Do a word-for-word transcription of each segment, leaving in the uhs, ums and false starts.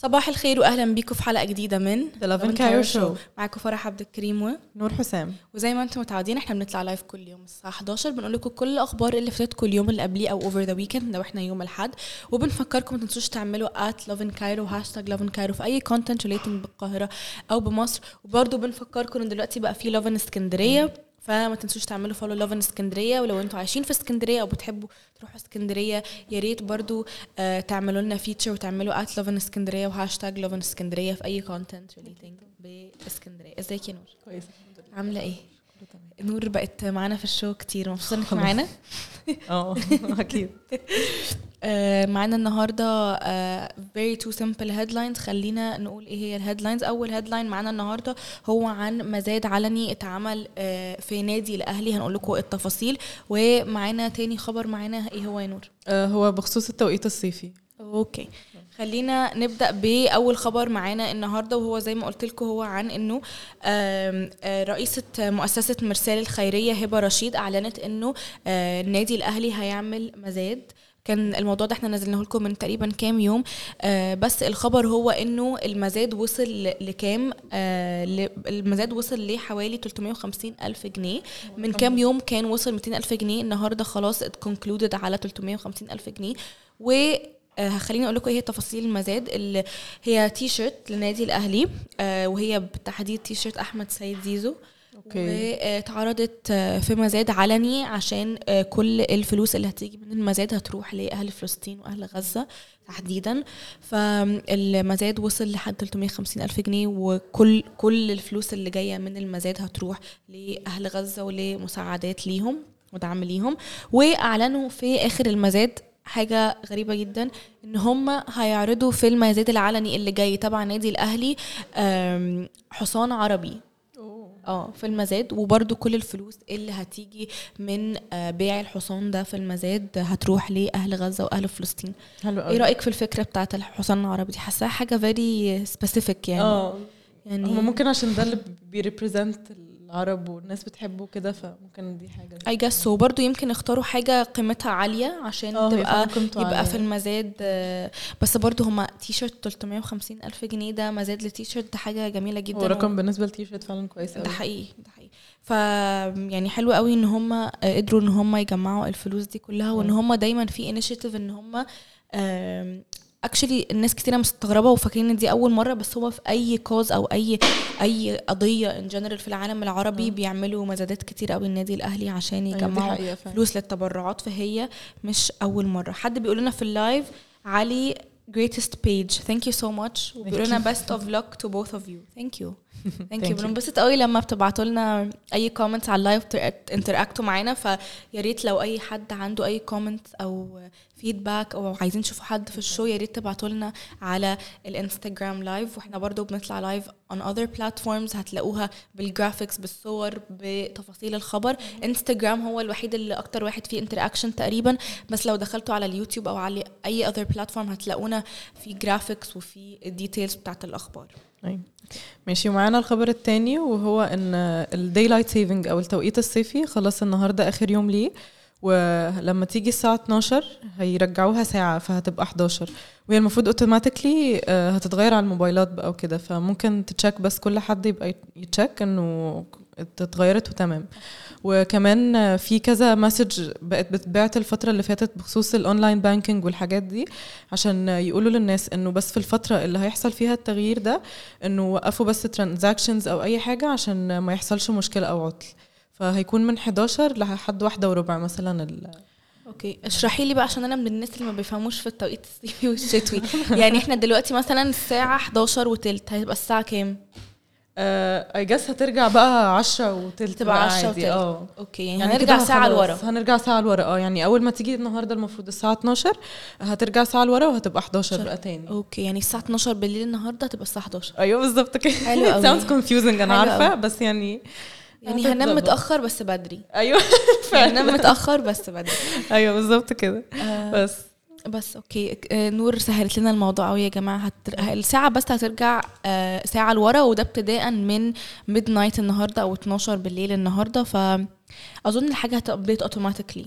صباح الخير واهلا بيكم في حلقه جديده من The Love and Cairo Show. معاكم فرح عبد الكريم ونور حسام. وزي ما انتم متعودين احنا بنطلع لايف كل يوم الساعه حداشر، بنقول لكم كل الاخبار اللي فاتتكم اليوم اللي قبليه او اوفر ذا ويكند لو احنا يوم الاحد، وبنفكركم ما تنسوش تعملوا at love and cairo هاشتاج love and cairo في اي كونتنت ريليتنج بالقاهره او بمصر. وبرده بنفكركم ان دلوقتي بقى في love in اسكندريه، فما تنسوش تعملوا فولو لوف ان اسكندريه. ولو انتوا عايشين في اسكندريه او بتحبوا تروحوا اسكندريه يا ريت برضو آه تعملوا لنا فيتشر وتعملوا ات لوف ان اسكندريه وهاشتاج لوف ان اسكندريه في اي كونتنت ريليتنج باسكندريه. ازيك يا نور؟ كويس، عامله ايه؟ نور بقت معانا في الشو كتير، مبسوطه انك معانا. اه اكيد. آه معانا النهارده آه very two simple headlines. خلينا نقول ايه هي الهيدلاينز. اول هيدلاين معانا النهارده هو عن مزاد علني اتعمل آه في نادي الاهلي، هنقول لكم التفاصيل. ومعانا تاني خبر معانا ايه هو يا نور؟ آه هو بخصوص التوقيت الصيفي. اوكي خلينا نبدا باول خبر معانا النهارده، وهو زي ما قلت لكم هو عن انه رئيسه مؤسسه مرسال الخيريه هبه رشيد اعلنت انه النادي الاهلي هيعمل مزاد. كان الموضوع ده احنا نزلناه لكم من تقريبا كام يوم، آه بس الخبر هو انه المزاد وصل لكام. آه المزاد وصل لحوالي ثلاثمية وخمسين ألف جنيه. من كام يوم كان وصل مئتين ألف جنيه، النهارده خلاص اتكونكلودد على ثلاثمية وخمسين ألف جنيه. و آه خليني اقول لكم ايه هي تفاصيل المزاد. اللي هي تي شيرت لنادي الاهلي، آه وهي بالتحديد تي شيرت احمد سيد زيزو. واتعرضت في مزاد علني عشان كل الفلوس اللي هتيجي من المزاد هتروح لأهل فلسطين وأهل غزة تحديدا. فالمزاد وصل لحد ثلاثمية وخمسين ألف جنيه، وكل كل الفلوس اللي جاية من المزاد هتروح لأهل غزة ولمساعدات ليهم ودعم ليهم. وأعلنوا في آخر المزاد حاجة غريبة جدا، ان هم هيعرضوا في المزاد العلني اللي جاي تبع نادي الأهلي حصان عربي اه في المزاد. وبرضو كل الفلوس اللي هتيجي من بيع الحصان ده في المزاد هتروح لأهل غزة وأهل فلسطين. ايه رأيك في الفكرة بتاعت الحصان العربي دي؟ حاساها حاجة very specific يعني. اه يعني هم ممكن عشان ده اللي بيريبريزنت العرب والناس بتحبه كده، فممكن دي حاجة اي جس. وبرضو يمكن اختاروا حاجة قيمتها عالية عشان تبقى يبقى عالية في المزاد. بس برضو هما تي شيرت ثلاثمية وخمسين ألف جنيه، ده مزاد لتي شيرت، ده حاجة جميلة جدا. ورقم و... بالنسبة للتي شيرت فعلا كويس قوي. ده حقيقي ده حقيقي. ف يعني حلو قوي ان هم قدروا ان هم يجمعوا الفلوس دي كلها، وان هم دايما في انيشيتيف ان هم اكشلي الناس كتيره مستغربه وفاكرين ان دي اول مره، بس هو في اي كوز او اي اي قضيه ان جنرال في العالم العربي م. بيعملوا مزادات كتير قوي النادي الاهلي عشان يجمعوا أيوة فلوس للتبرعات. فهي مش اول مره. حد بيقول لنا في اللايف علي greatest page thank you so much، وبيقول لنا best of luck to both of you. thank you thank you. بنبسط قوي لما بتبعتوا لنا اي كومنتس على اللايف انتراكتوا معانا، فيا ريت لو اي حد عنده اي كومنت او فيدباك او عايزين تشوفوا حد في الشو يا ريت تبعتوا لنا على الانستغرام لايف. واحنا برضو بنطلع لايف on other platforms هتلاقوها بالجرافيكس بالصور بتفاصيل الخبر. انستغرام هو الوحيد اللي اكتر واحد فيه انتراكشن تقريبا، بس لو دخلتوا على اليوتيوب او على اي other platform هتلاقونا في جرافيكس وفي الديتيلز بتاعت الاخبار. أي. ماشي. ومعانا الخبر التاني وهو ان الدايلايت سيفنج او التوقيت الصيفي خلاص النهارده اخر يوم ليه، ولما تيجي الساعه اتناشر هيرجعوها ساعه فهتبقى حداشر، وهي المفروض اوتوماتيكلي هتتغير على الموبايلات بقى وكده. فممكن تتشيك، بس كل حد يبقى يتشيك انه اتغيرت وتمام. وكمان في كذا مسج بقت بتبعت الفترة اللي فاتت بخصوص الاونلاين بانكينج والحاجات دي، عشان يقولوا للناس انه بس في الفترة اللي هيحصل فيها التغيير ده انه وقفوا بس ترانزاكشنز او اي حاجة عشان ما يحصلش مشكلة او عطل. فهيكون من حداشر لحد واحدة وربع مثلا ال اوكي اشرحي لي بقى، عشان انا من الناس اللي ما بيفهموش في التوقيت الصيفي والشتوي. يعني احنا دلوقتي مثلا الساعة حداشر وتلت، هيبقى الساعة كام؟ اي جس هترجع بقى عشرة وتلت، تبقى عشرة وتلت. اه اوكي يعني, يعني هنرجع ساعه لورا. هنرجع ساعه لورا. اه يعني اول ما تيجي النهارده المفروض الساعه اتناشر هترجع ساعه لورا وهتبقى حداشر بقى تاني. اوكي يعني الساعه اتناشر بالليل النهارده هتبقى الساعه حداشر. ايوه بالظبط كده. it sounds confusing انا عارفه أوي. بس يعني يعني هننام متاخر بس بدري. ايوه هننام متاخر بس بدري. ايوه بالظبط كده. آه بس بس اوكي نور سهلت لنا الموضوع قوي يا جماعه. هتر... الساعه بس هترجع ساعه لورا، وده ابتداء من ميد نايت النهارده او اتناشر بالليل النهارده. فاظن الحاجه هتابديت اوتوماتيكلي.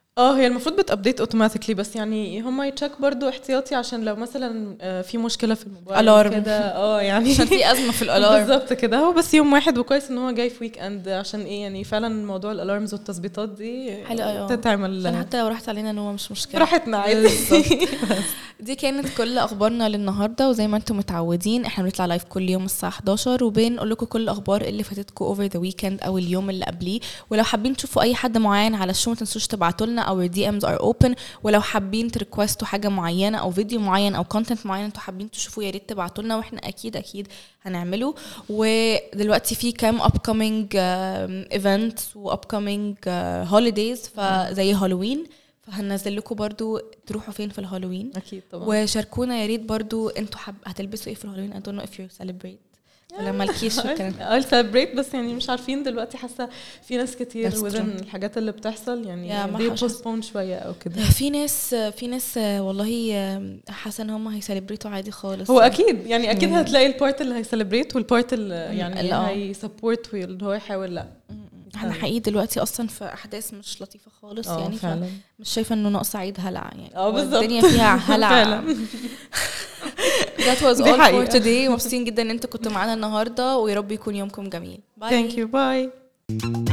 اه هي المفروض بتابديت اوتوماتيكلي، بس يعني هم يتشك برضو احتياطي عشان لو مثلا آه، في مشكله في الموبايل Alarm. كده اه يعني عشان في ازمه في الالارم. بالظبط كده. هو بس يوم واحد وكويس ان هو جاي في ويك اند، عشان ايه يعني فعلا موضوع الالارمز والتثبيطات دي حلو أوي. تتعمل عشان حتى لو راحت علينا نوم مش مشكله، براحتنا عادي. بالظبط. دي كانت كل اخبارنا للنهارده، وزي ما انتم متعودين احنا بنطلع لايف كل يوم الساعه حداشر وبنقول لكم كل الاخبار اللي فاتتكم اوفر ذا ويكند او اليوم اللي قبليه. ولو حابين تشوفوا اي حد معين على الشو ما تنسوش تبعتوا لنا، او دي امز ار اوبن. ولو حابين تريكوستوا حاجه معينه او فيديو معين او كونتنت معين انتوا حابين تشوفوه، يا ريت تبعتوا لنا واحنا اكيد اكيد هنعمله. ودلوقتي في كام upcoming uh, events و upcoming uh, holidays فزي هالوين، فهننزل لكم برضو تروحوا فين في الهالوين اكيد طبعا. وشاركونا يا ريت برضو انتوا حب هتلبسوا ايه في الهالوين. I don't know if you celebrate ولا مالكيش والكلام I'll celebrate، بس يعني مش عارفين دلوقتي. حاسه في ناس كتير That's وزن true. الحاجات اللي بتحصل يعني يا ما دي حش- postpone شويه او كده. في ناس في ناس والله حاسه ان هم هيسليبريتوا عادي خالص. هو اكيد يعني اكيد مم. هتلاقي البارت اللي هيسليبريت والبارت اللي اللي يعني آه. هي سبورت واللي هو يحاول لا. احنا حقيقي دلوقتي اصلا في احداث مش لطيفه خالص اه يعني، فعلا. مش شايفه انه ناقص عيد هلع يعني. اه بالظبط. الدنيا فيها هلع فعلا. That was دي all for حقيقة. today. مبسوطين جدا ان انتوا كنتوا معانا النهارده، ويا رب يكون يومكم جميل. Thank you. Bye.